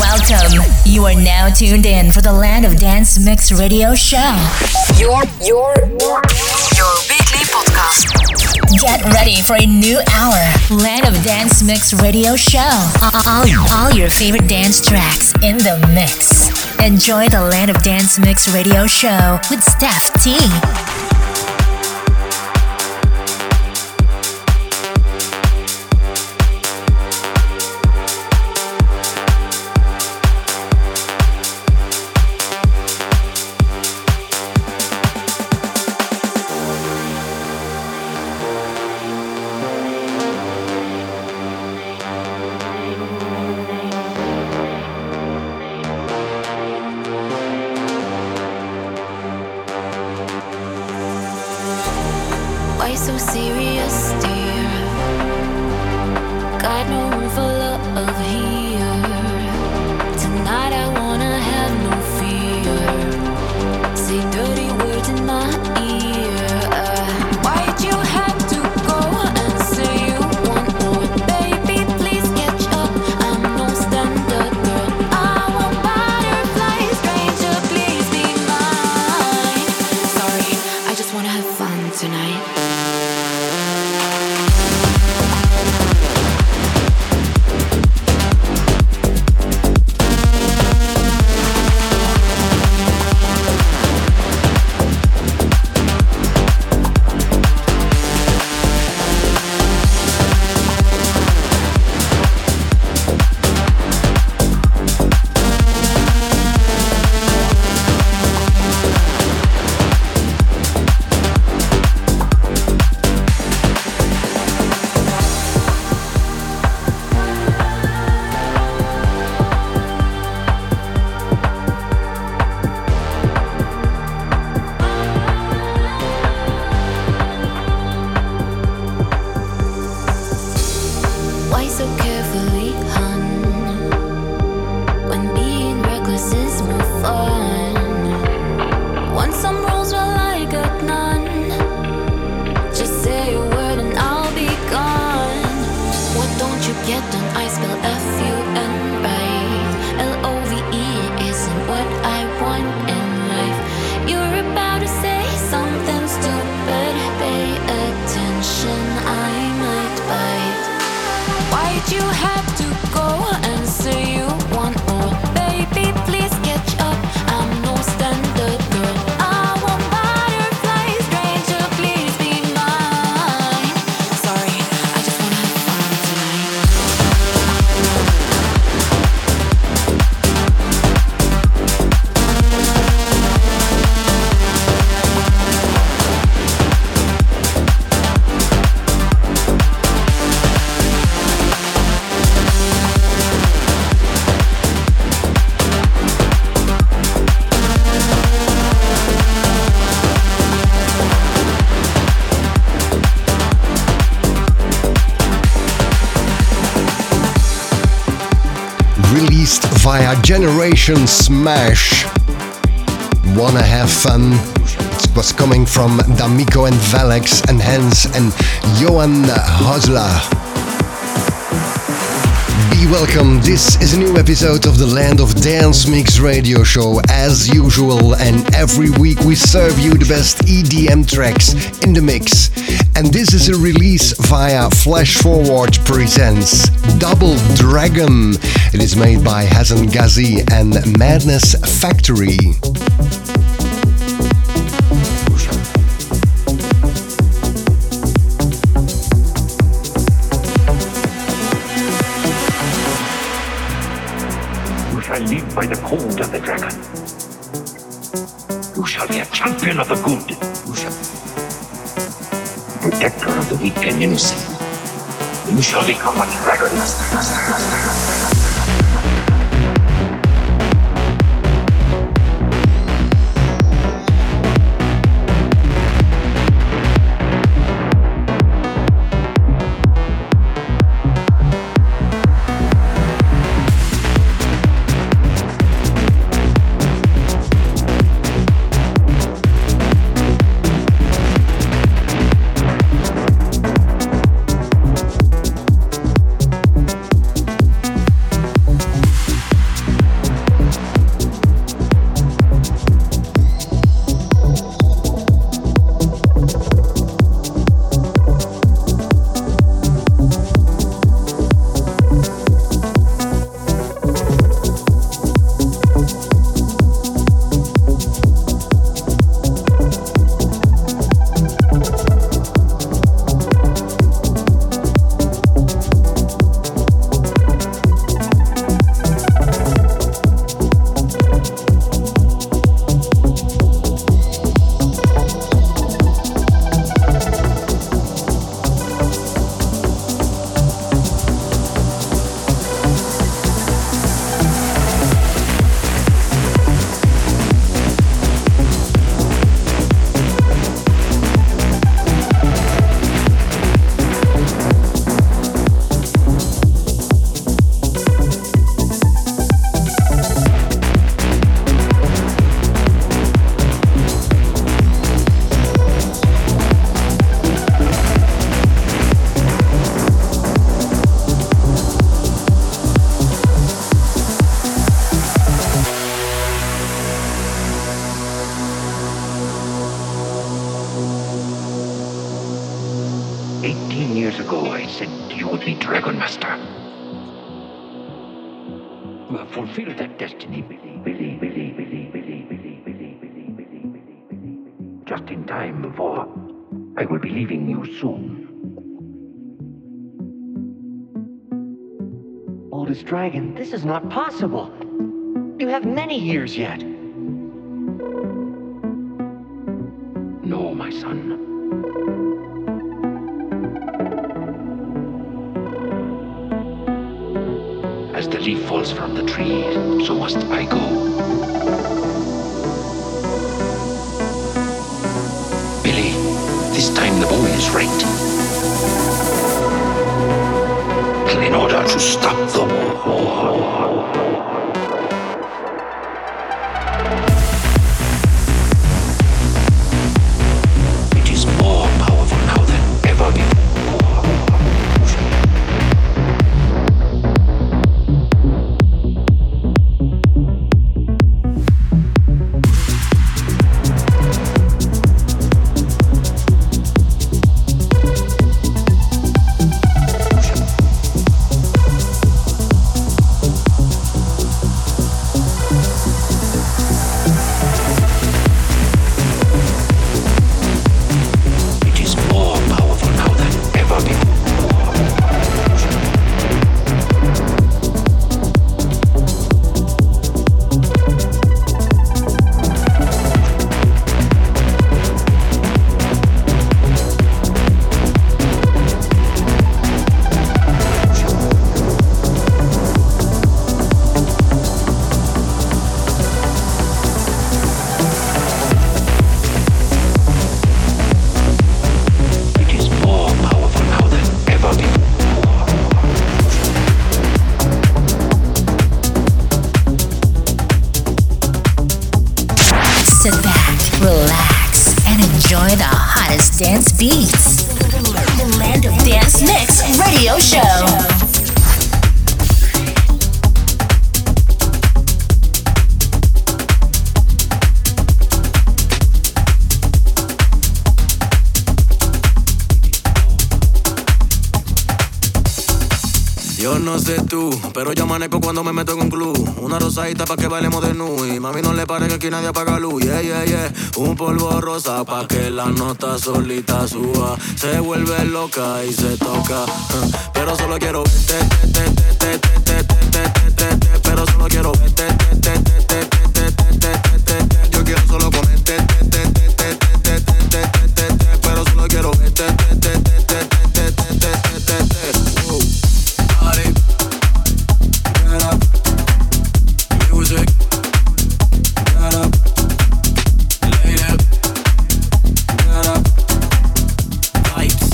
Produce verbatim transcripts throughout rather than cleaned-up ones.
Welcome. You are now tuned in for the Land of Dance Mix Radio Show. Your, your, your, your weekly podcast. Get ready for a new hour. Land of Dance Mix Radio Show. All, all your favorite dance tracks in the mix. Enjoy the Land of Dance Mix Radio Show with Steph T. Via Generation Smash. Wanna have fun? It was coming from D'Amico and Valex and Hans and Johan Hosler. Be welcome, this is a new episode of the Land of Dance Mix Radio Show. As usual, and every week we serve you the best E D M tracks in the mix. And this is a release via Flash Forward Presents Double Dragon. It is made by Hasan Ghazi and Madness Factory. You shall live by the code of the dragon. You shall be a champion of the good. You shall be protector of the weak and innocent. You shall become a dragon. you would be Dragon Master. You have fulfilled that destiny, Billy, Billy, Billy, Billy, Billy, Billy, Billy, Billy, Billy, Billy, Billy, just in time before I will be leaving you soon. Oldest dragon, this is not possible. You have many years yet. No, my son. As the leaf falls from the tree, so must I go. Billy, this time the boy is right. In order to stop the war. It is more powerful now than ever before. Dance beats. The Land of Dance Mix Radio Show. Yo no sé tú, pero yo amanezco cuando me meto en un club. Una rosadita pa' que bailemos de nu. Y mami no le pare que aquí nadie apaga luz. Yeah, yeah, yeah. Un polvo rosa pa' que la nota solita suba. Se vuelve loca y se toca. Uh, pero solo quiero verte, te, te, te, te, te, te, te, te, te, pero solo quiero verte, te, te, te, te, te, te, te, te, te. Yo quiero solo ponerte, te, te, te, te, te, te, te, te, te, pero solo quiero verte, te, te, te, te, te, te, te, te, te. Party, get up, music, get up, lady, get up, vibes,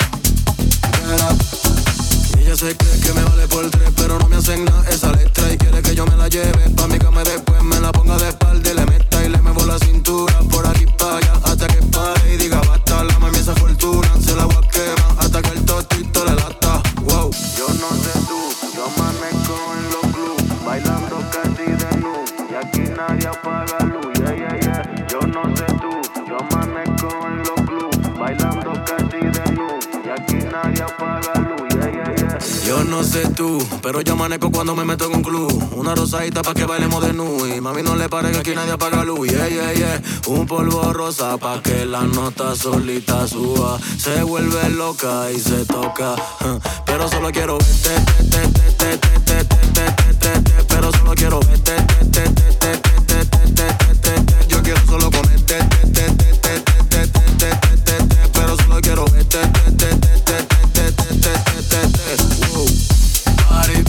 get up. Ella se cree que me vale por tres, pero no me hacen nada esa letra y quiere que yo me la lleve pa' mi cama y después me la ponga de espalda y le meta y le muevo la cintura por aquí pa' allá hasta que pare y diga basta, la mami esa fortuna se la voy a quemar hasta que el tostito le lata. Wow, yo no sé tú, yo amanezco en los clubs bailando casi de nu y aquí nadie apaga luz. Yeah, yeah, yeah. Yo no sé tú, yo amanezco en los clubs bailando casi de nu y aquí nadie apaga luz. Yeah, yeah, yeah. Yo no sé tú, pero yo amanezco cuando me meto en un club. Una rosadita pa' que bailemos de nu y mami no le pare que aquí nadie apaga luz. Yeah, yeah, yeah. Un polvo rosa pa' que la nota solita suba. Se vuelve loca y se toca. Uh, pero solo quiero verte, te, te, te, te, te, te, te, te, te, te, pero solo quiero verte, te, te, te, te, te, te, te, te, te, te. Yo quiero solo ponerte, te, te, te, te, te, te, te, te, te, te, pero solo quiero verte, te, te, te, te, te, te, te, te, te. Wow. Party,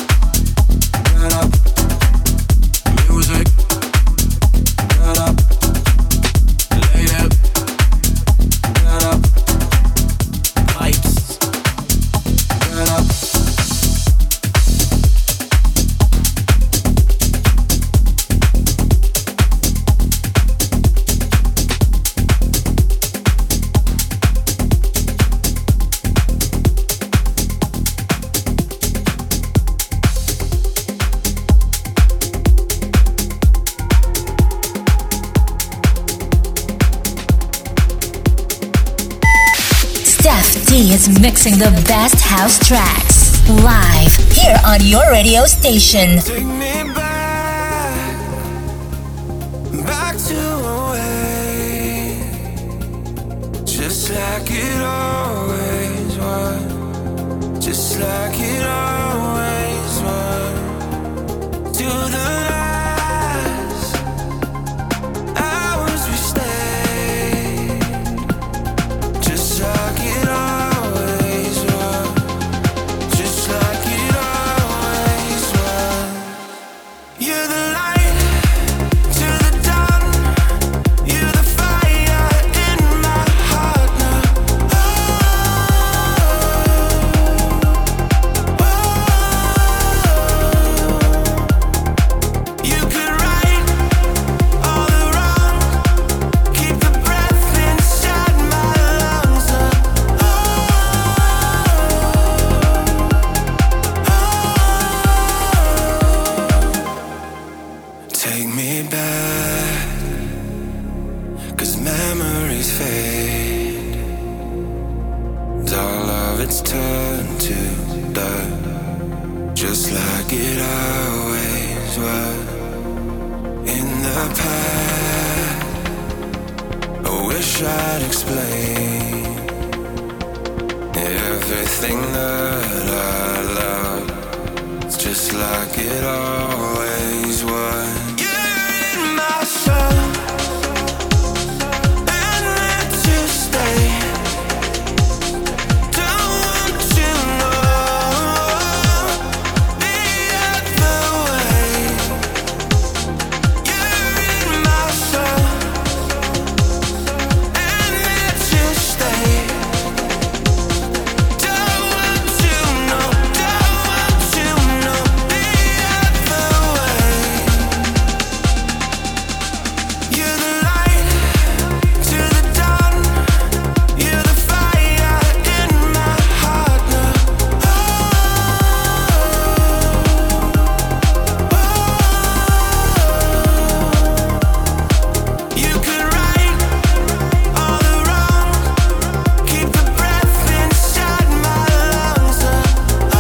get up, music, get up, lady, get up, vibes, get up. He is mixing the best house tracks live here on your radio station. Take me back, back to a way, just like it always was, just like it always was. To the last hours we stayed, just like it always was, just like it always was. You're the light to the dawn, you're the fire in my heart now. Oh, oh, you could right all the wrong, keep the breath inside my lungs now. Oh, take me back, 'cause memories fade, all of it's turned to dirt, just like it always was. In the past, I wish I'd explain everything that I love. It's just like it always was. You're in my soul, and let you stay. Don't want to know the other way. You're in my soul, and let you stay. Don't want to know, don't want to know the other way. You're the light to the dawn, you're the fire in my heart now. Oh, oh, you could right all the wrong, keep the breath inside my lungs now. Oh,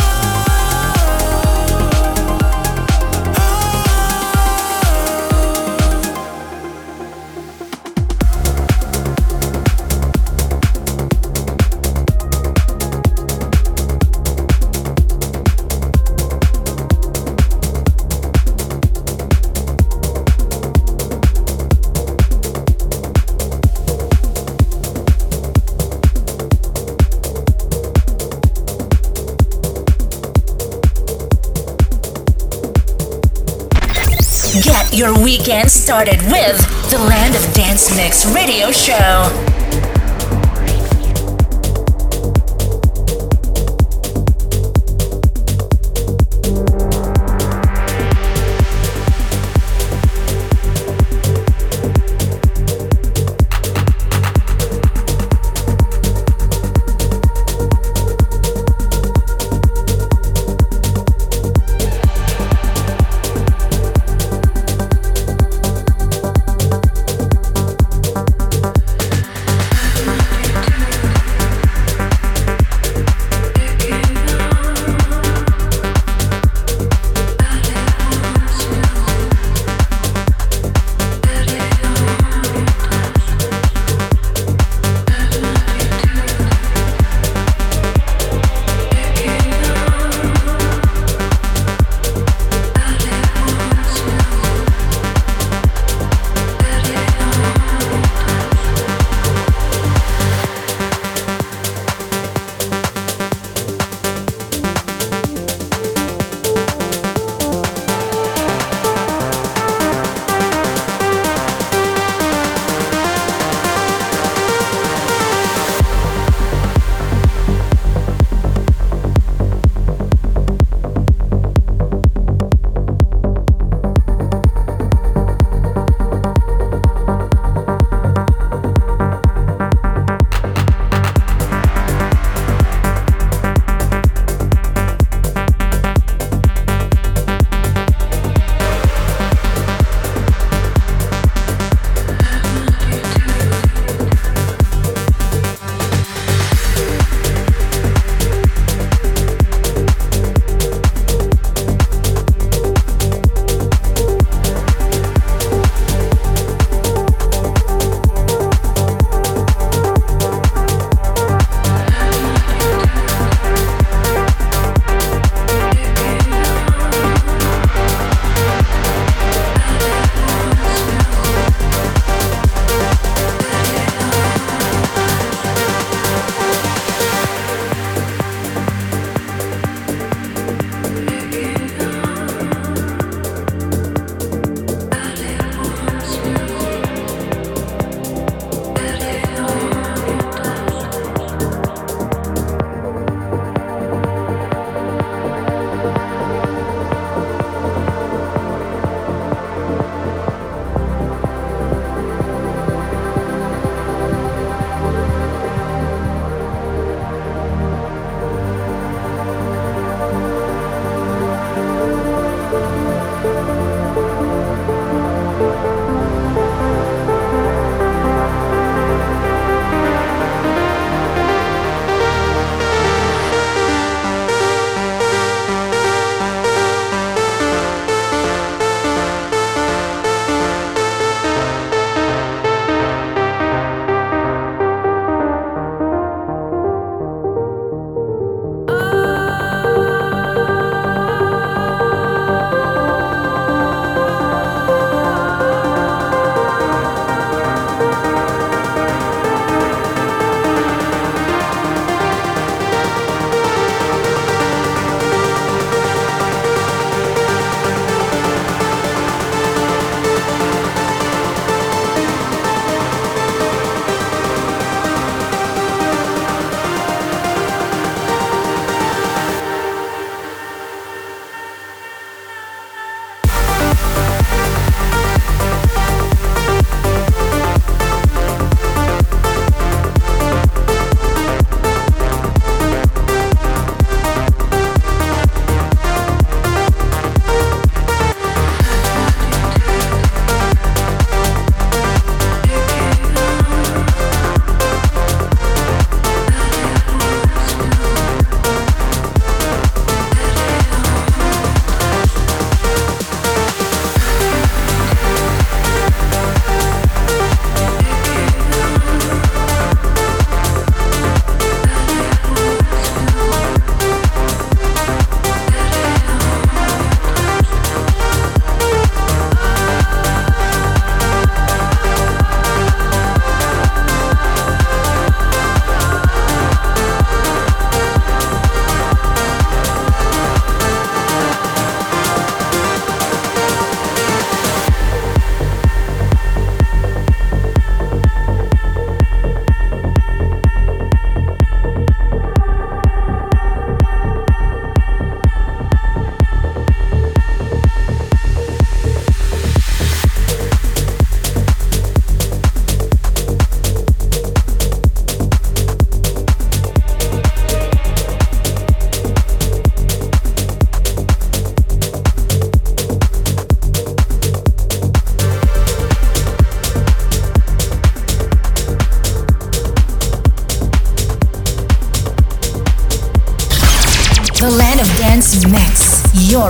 Get your weekend started with the Land of Dance Mix Radio Show.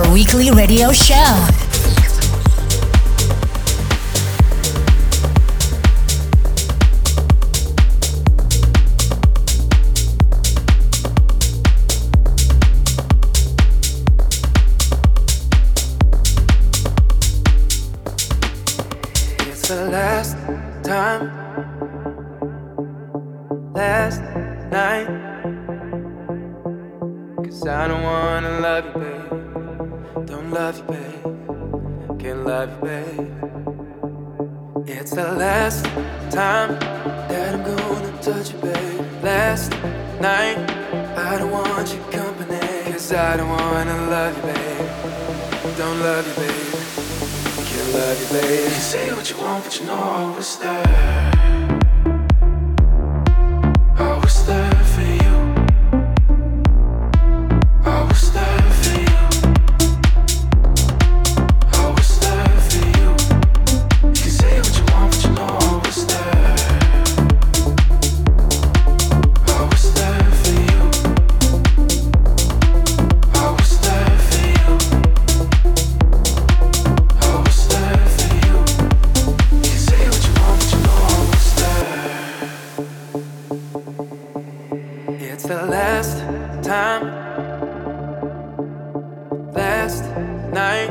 your weekly radio show. It's the last time, last night. 'Cause I don't wanna love you, babe. Don't love you, babe. Can't love you, babe. It's the last time that I'm gonna touch you, babe. Last night, I don't want your company. 'Cause I don't wanna love you, babe. Don't love you, babe. Can't love you, babe. You say what you want, but you know I was there. I was there for you. I was there for you. I was there for you. You can say what you want, but you know I was there. I was there for you. I was there for you. I was there for you. You can say what you want, but you know I was there. It's the last time, last night.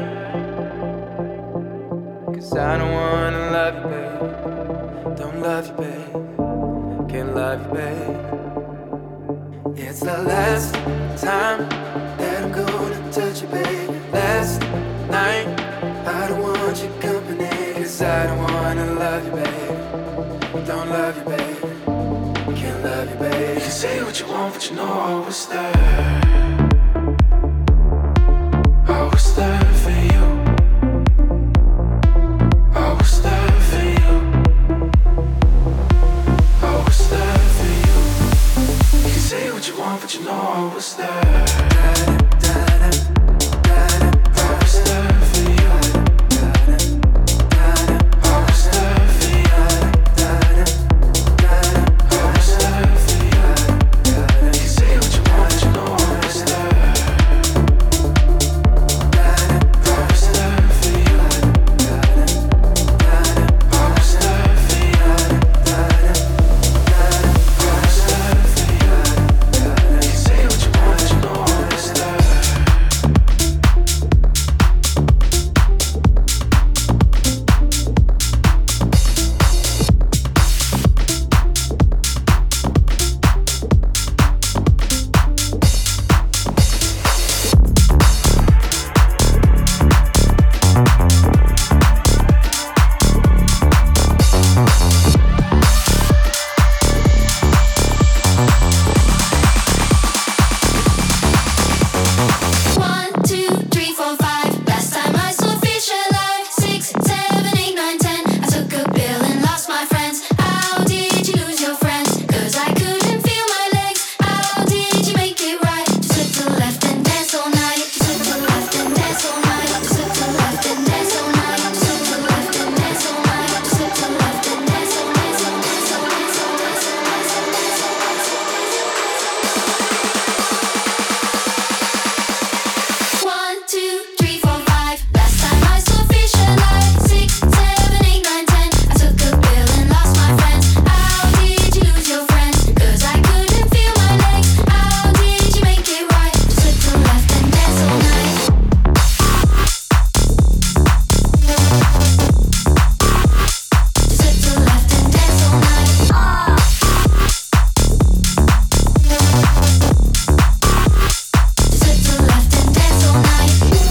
'Cause I don't wanna love you, babe. Don't love you, babe. Can't love you, babe. It's the last time that I'm gonna touch you, babe. Last night, I don't want your company. 'Cause I don't wanna love you, babe. Don't love you, babe. Can't love you, babe. You can say what you want, but you know I was there. I was there for you. I was there for you. I was there for you. You can say what you want, but you know I was there. I was there for you. I was there for you. I was there for you. You can say what you want, but you know I was there. I was there for you. I was there for you. I was there for you. You can say what you want, but you know I was there. One, two, three, four, five. Last time I saw fish alive. Six, seven, eight, nine, ten. I took a pill and lost my friends. How did you lose your friends? 'Cause I couldn't feel my legs. How did you make it right? Just look to the left and dance all night. Just look to the left and dance all night. Just look to the left and dance all night. Just look to the left and dance all night. Just look to the left and dance all night. Dance all night, dance all night, dance all night, dance all night, dance all night, dance all night. One, two, three, four, five. Last time I saw fish alive. Six, seven, eight, nine, ten. I took a pill and lost my friends. How did you lose your friends? 'Cause I couldn't feel my legs. How did you make it right? Just look to the left and dance all night. Just look to the left and dance all night. Just look to the left and dance all night.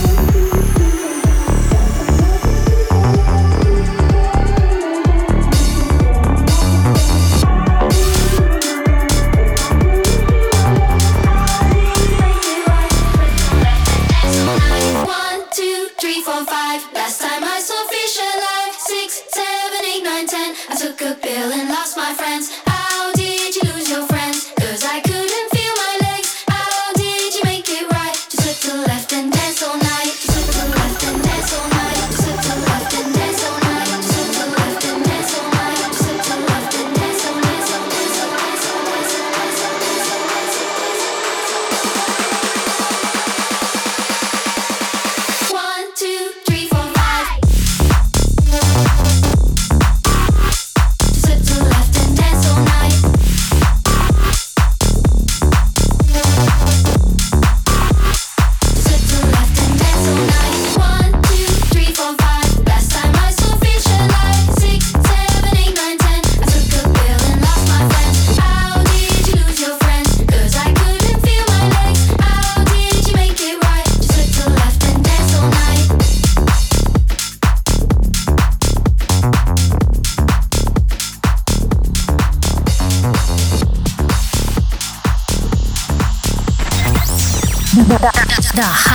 One, two, three, four, five. Last time I saw fish alive. Six, seven, eight, nine, ten. I took a pill and lost my friends. How did you lose your friends? 'Cause I couldn't feel my legs. How did you make it right? Just look to the left and dance all night. Just look to the left and dance all night. Just look to the left and dance all night. Just look to the left and dance all night. Just look to the left and dance all night. Dance all night, dance all night, dance all night, dance all night, dance all night, dance all night.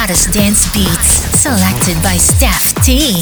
hottest dance beats, selected by Steph T.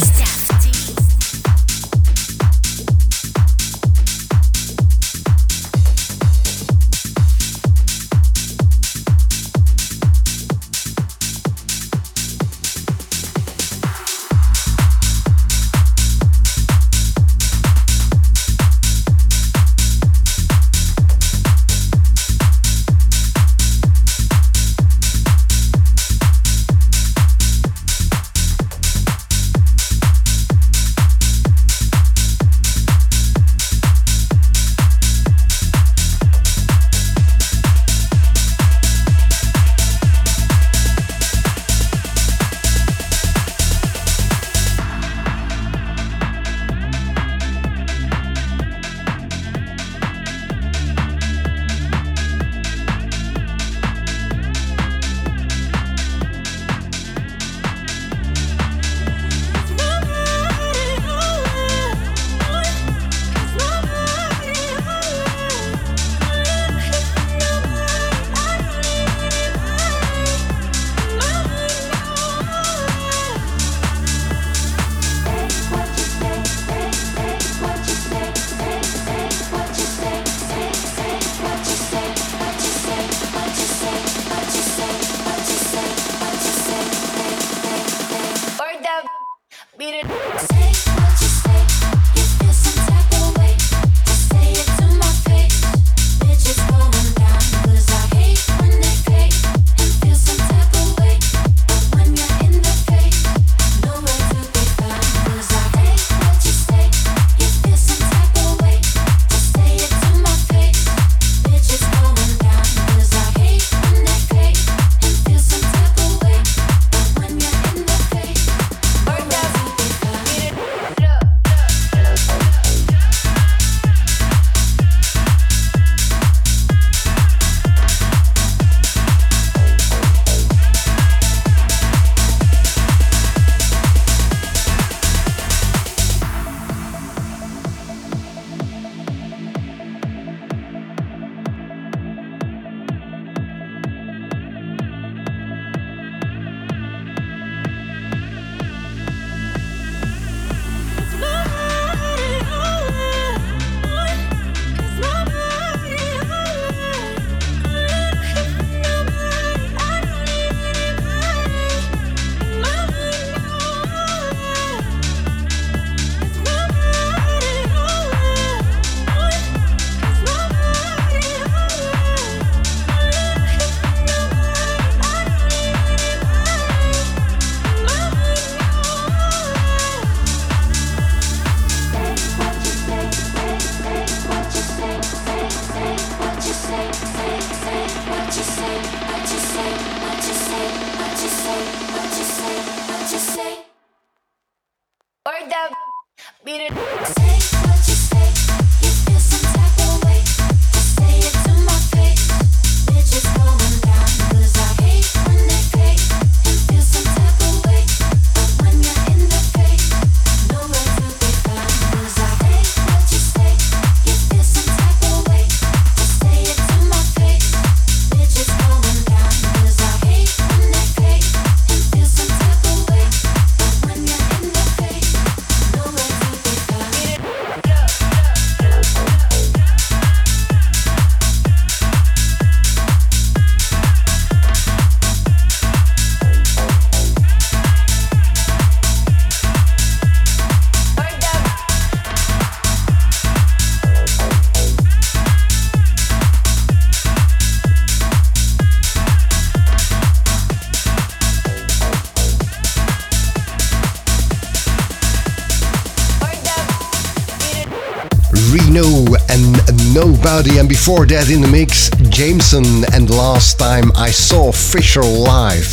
Nobody, and before that in the mix, Jameson and Last Time I Saw Fisher Live.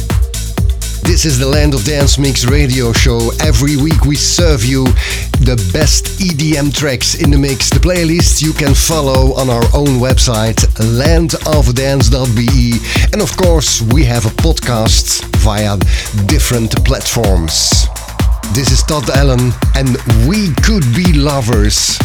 This is the Land of Dance Mix radio show. Every week we serve you the best E D M tracks in the mix. The playlist you can follow on our own website, land of dance dot b e. And of course, we have a podcast via different platforms. This is Todd Allen, and We Could Be Lovers.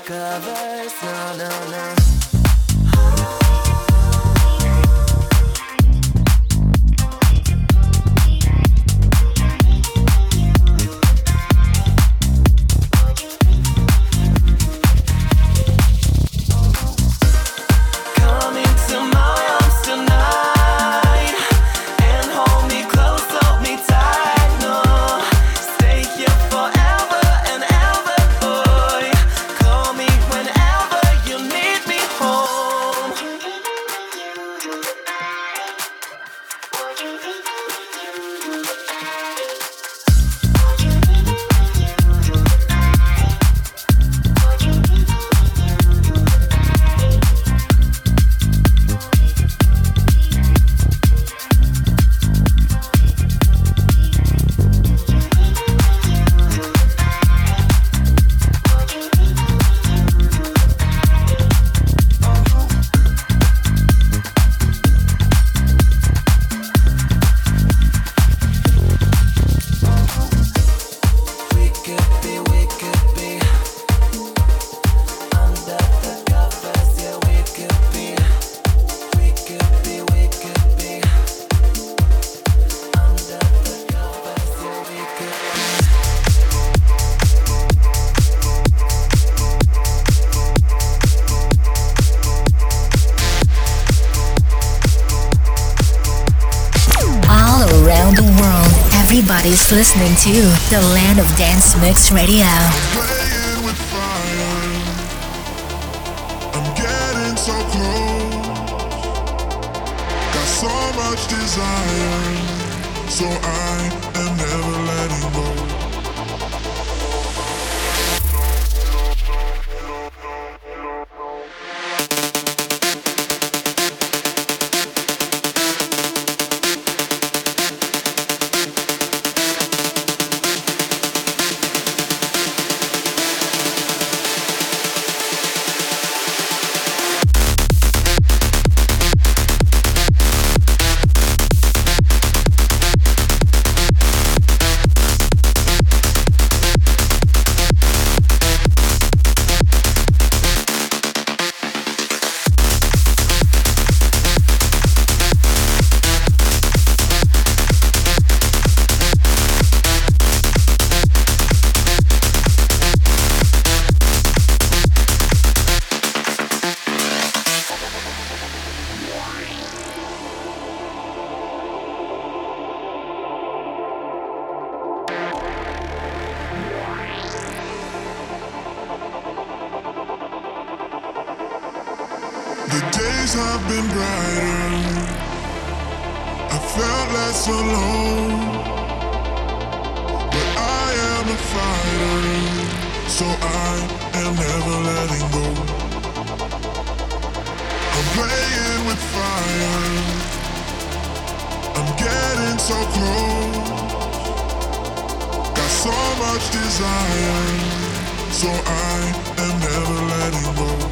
covers, no, no, no. Everybody's listening to the Land of Dance Mix Radio. Playing with fire, I'm getting so close. Got so much desire, so I am never letting go. The days have been brighter, I felt less alone. But I am a fighter, so I am never letting go. I'm playing with fire, I'm getting so close. Got so much desire, so I am never letting go.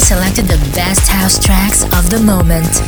selected the best house tracks of the moment.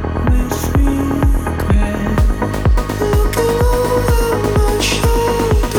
Looking over my shoulder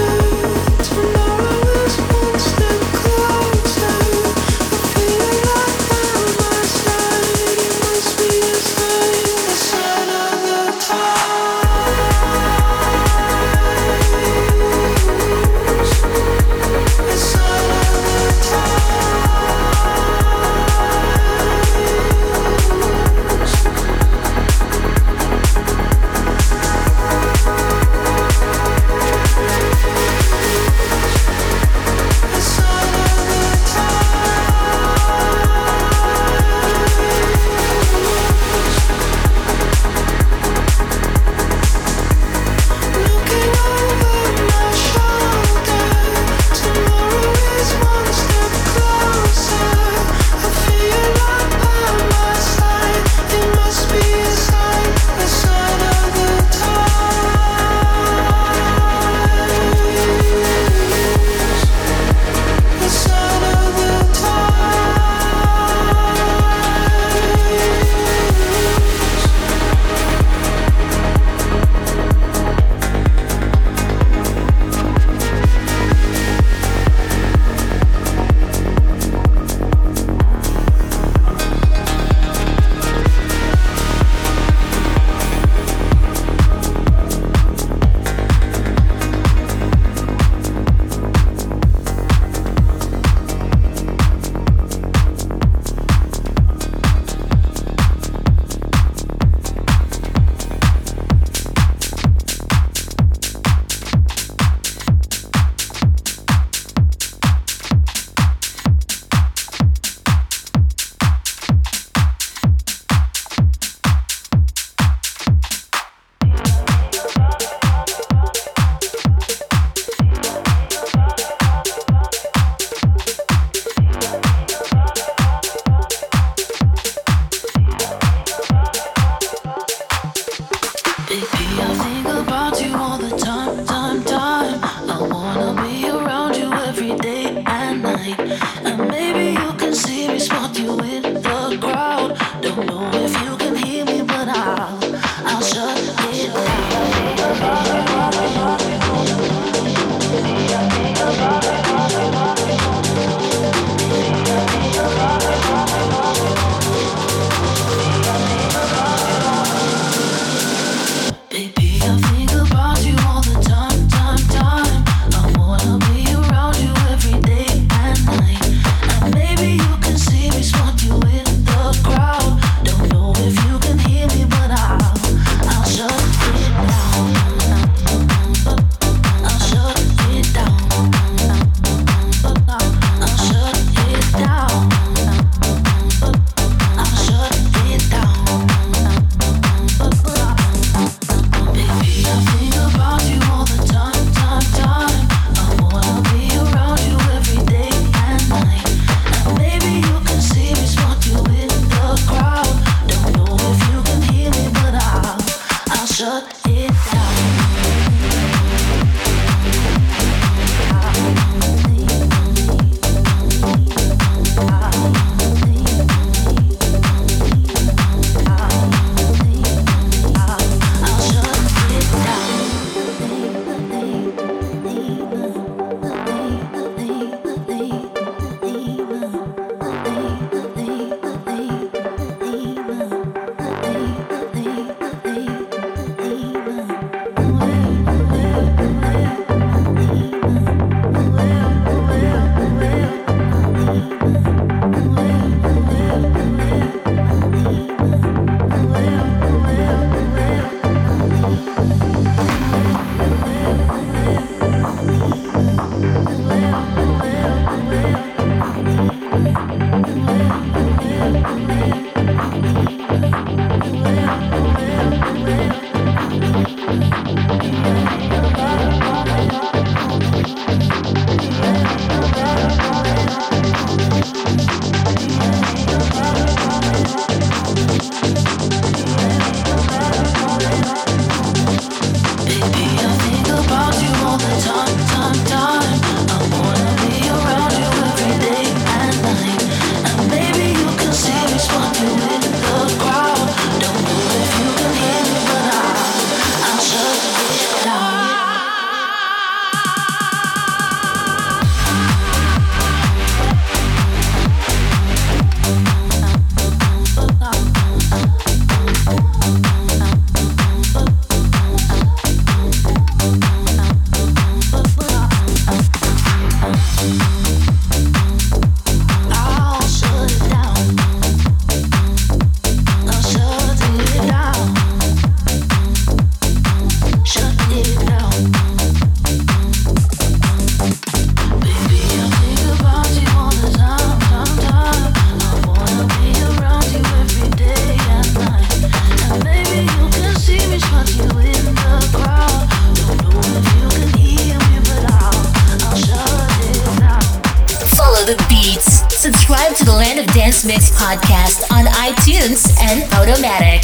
Dance Mix Podcast on iTunes and Automatic.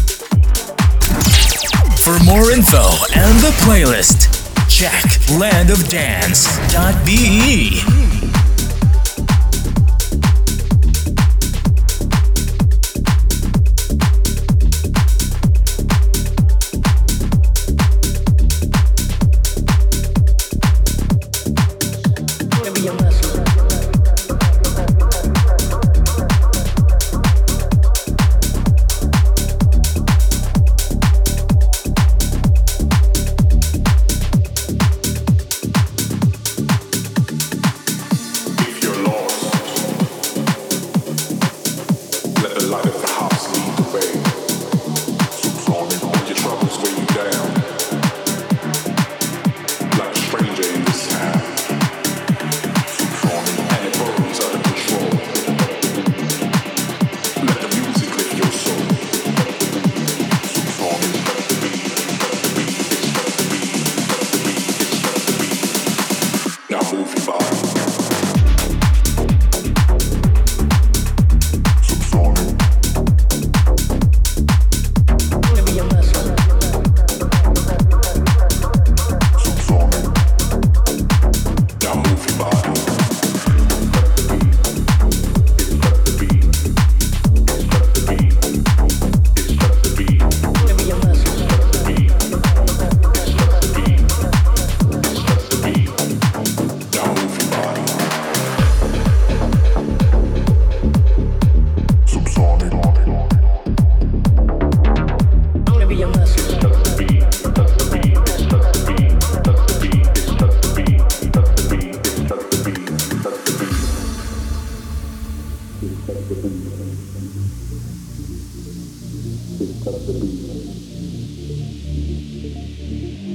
For more info and the playlist, check land of dance dot b e.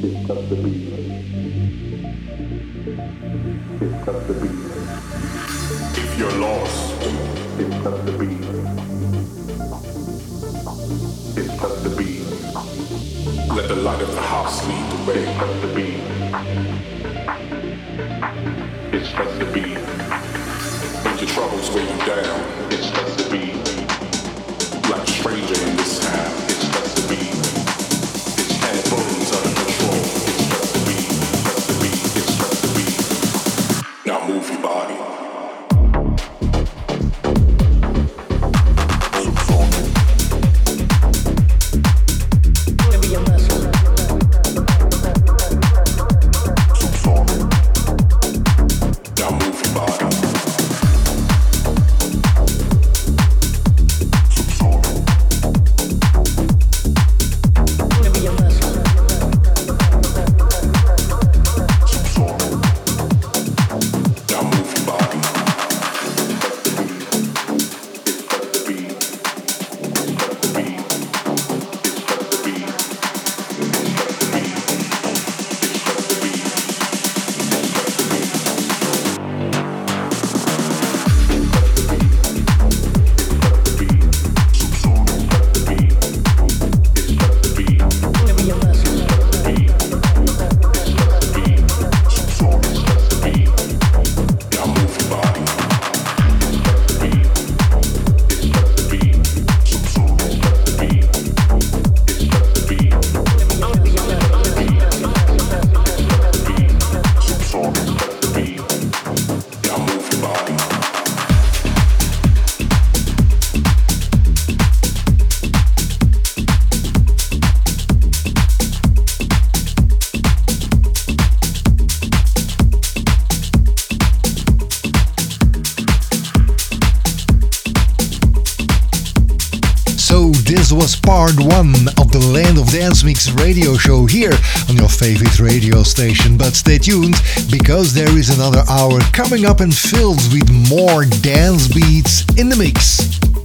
This was part one of the Land of Dance Mix radio show here on your favorite radio station. But stay tuned, because there is another hour coming up and filled with more dance beats in the mix.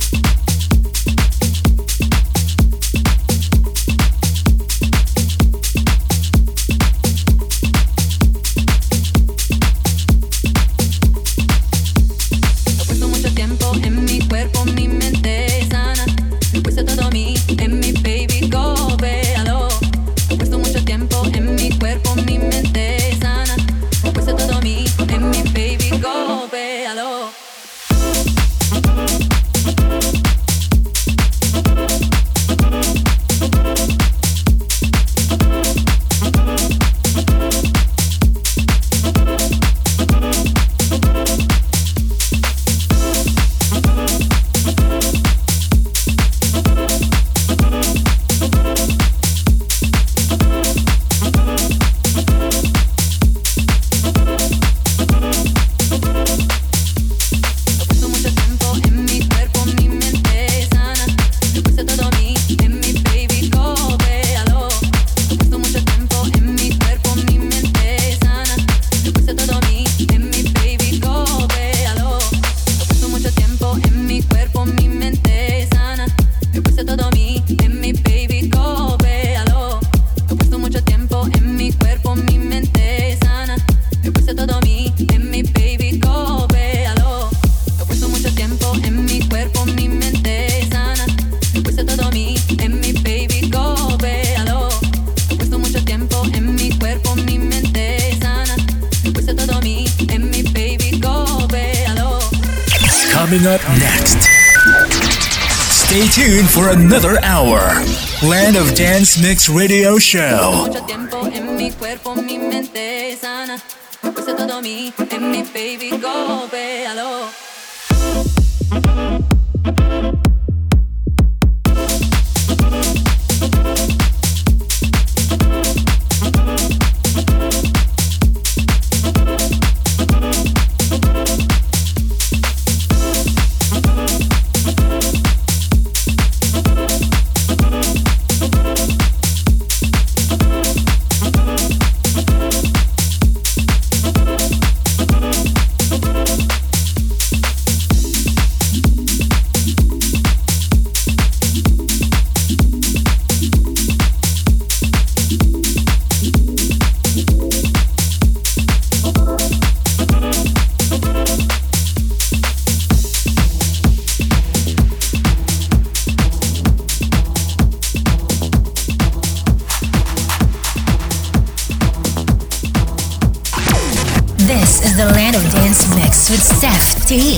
Coming up next. Stay tuned for another hour. Land of Dance Mix Radio Show. Mucho tiempo en mi cuerpo, mi mente sana. Puse todo mi, en mi baby, go, véalo. is the Land of Dance Mix with Steph T.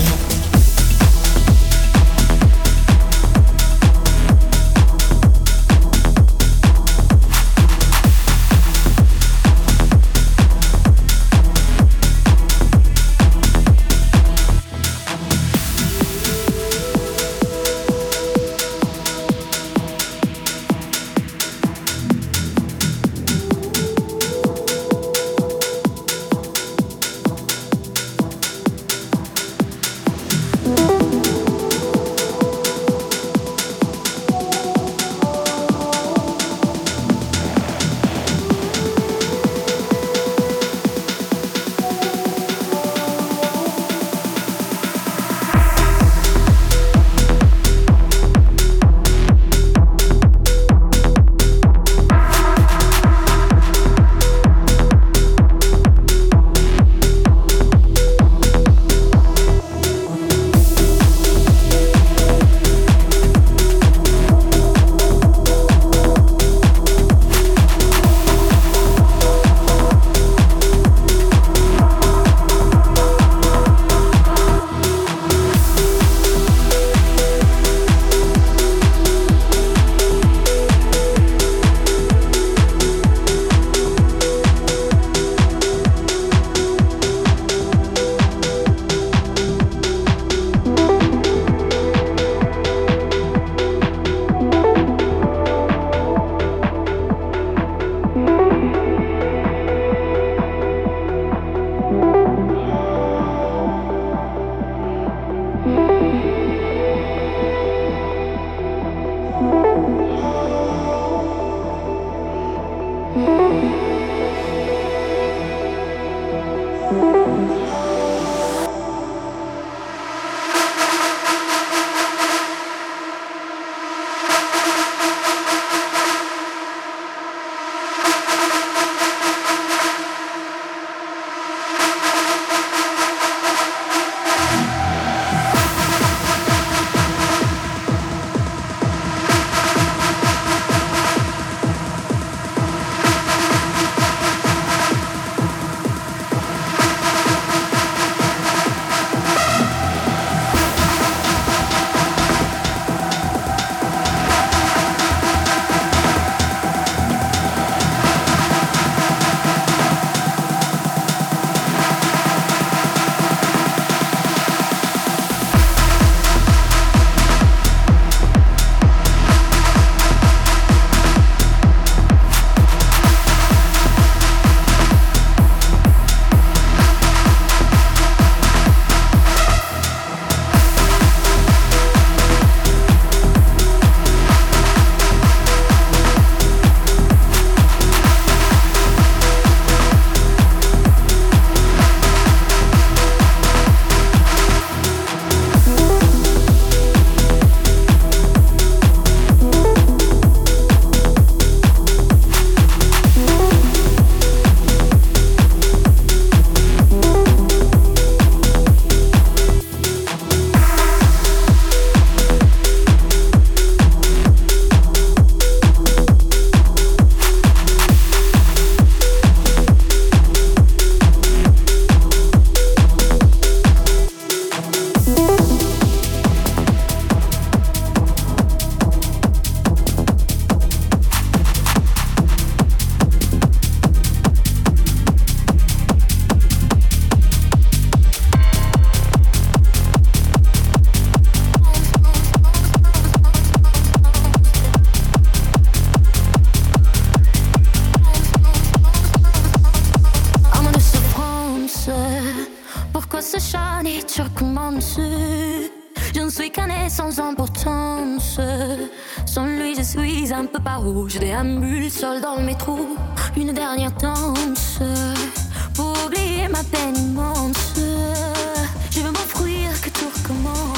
Je ne suis qu'un nez sans importance. Sans lui je suis un peu paro. Je déambule seul dans le métro. Une dernière danse pour oublier ma peine immense. Je veux m'offrir que tout recommence.